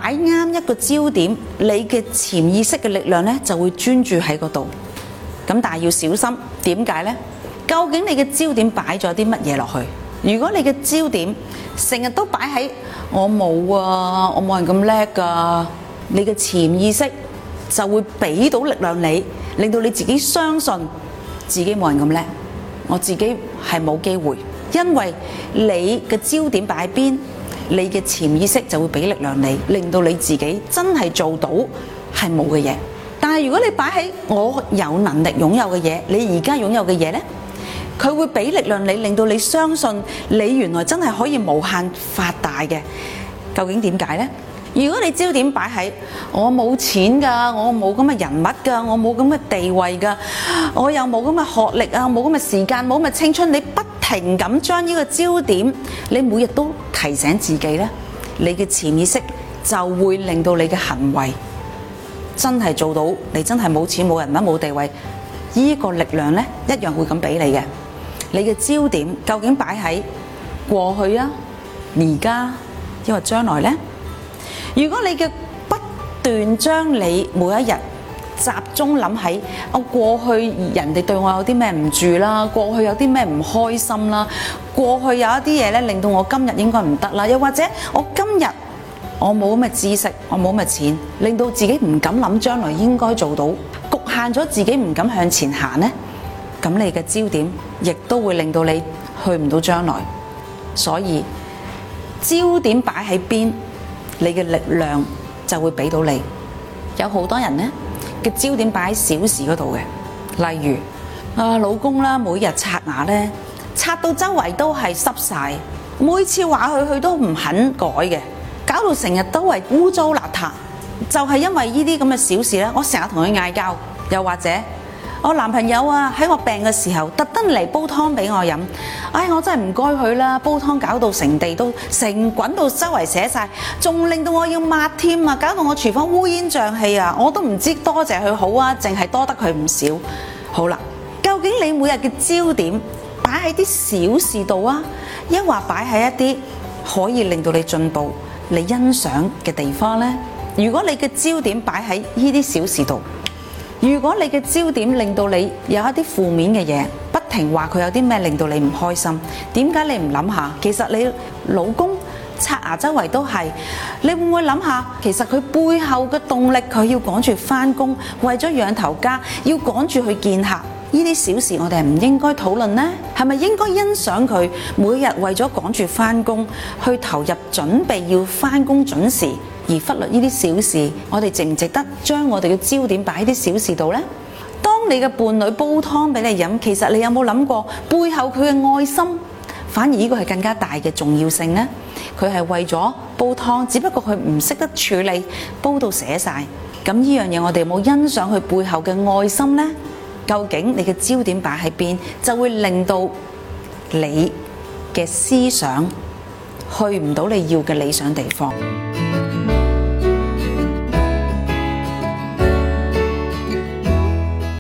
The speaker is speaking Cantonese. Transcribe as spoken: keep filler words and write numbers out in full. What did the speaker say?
擺啱一個焦點，你嘅潛意識嘅力量咧就會專注喺嗰度。咁但係要小心，點解呢？究竟你嘅焦點擺咗啲乜嘢落去？如果你嘅焦點成日都擺喺我冇啊，我冇人咁叻噶，你嘅潛意識就會俾到力量你，令到你自己相信自己冇人咁叻，我自己係冇機會。因為你嘅焦點擺喺邊，你嘅潛意識就會俾力量你，令到你自己真係做到係冇嘅嘢。但係如果你擺喺我有能力擁有嘅嘢，你而家擁有嘅嘢呢，佢會俾力量你，令到你相信你原來真係可以無限發大嘅。究竟點解呢？如果你焦點擺喺我冇錢㗎，我冇咁嘅人物㗎，我冇咁嘅地位㗎，我又冇咁嘅學歷啊，冇咁嘅時間，冇咁嘅青春，你不停咁將呢個焦點，你每日都提醒自己呢，你嘅潛意識就會令到你嘅行為真係做到，你真係冇錢冇人物冇地位，呢個力量呢一樣會咁俾你嘅。你嘅焦點究竟擺喺過去啊、而家抑或將來呢？如果你嘅不斷將你每一日集中諗喺我過去人哋對我有啲咩唔住啦，過去有啲咩唔開心啦，過去有一啲嘢咧令到我今日應該唔得啦，又或者我今日我冇咁嘅知識，我冇咁嘅錢，令到自己唔敢諗將來應該做到，局限咗自己唔敢向前行呢，咁你嘅焦點亦都會令到你去唔到將來。所以焦點擺喺邊，你嘅力量就會俾到你。有好多人呢嘅焦點擺喺小事嗰度嘅，例如啊老公啦，每日刷牙呢，刷到周圍都係濕晒，每次話佢佢都唔肯改嘅，搞到成日都係污糟邋遢。就係因為呢啲咁嘅小事呢，我成日同佢嗌交。又或者我男朋友啊喺我病嘅時候特登嚟煲湯俾我飲，唉，我真係唔該佢啦，煲湯搞到成地都成滾到周圍寫晒，仲令到我要抹添啊，搞到我廚房烏煙瘴氣啊，我都唔知多謝佢好啊，淨係多得佢唔少。好啦，究竟你每日嘅焦點擺喺啲小事度啊，抑或擺喺一啲可以令到你進步、你欣賞嘅地方呢？如果你嘅焦點擺喺呢啲小事度，如果你嘅焦點令到你有一啲負面嘅嘢，不停話佢有啲咩令到你唔開心，點解你唔諗下？其實你老公刷牙周圍都係，你會唔會諗下？其實佢背後嘅動力，佢要趕住返工，為咗養頭家，要趕住去見客。呢啲小事我哋係唔應該討論呢？係咪應該欣賞佢每日為咗趕住返工，去投入準備要返工準時，而忽略呢啲小事？我哋值唔值得將我哋嘅焦點擺喺啲小事度呢？當你嘅伴侶煲湯俾你飲，其實你有冇諗過背後佢嘅愛心？反而呢個係更加大嘅重要性呢？佢係為咗煲湯，只不過佢唔識得處理，煲到瀉晒。咁呢樣嘢我哋有冇欣賞佢背後嘅愛心呢？究竟你嘅焦點擺喺邊，就會令到你嘅思想去唔到你要嘅理想地方。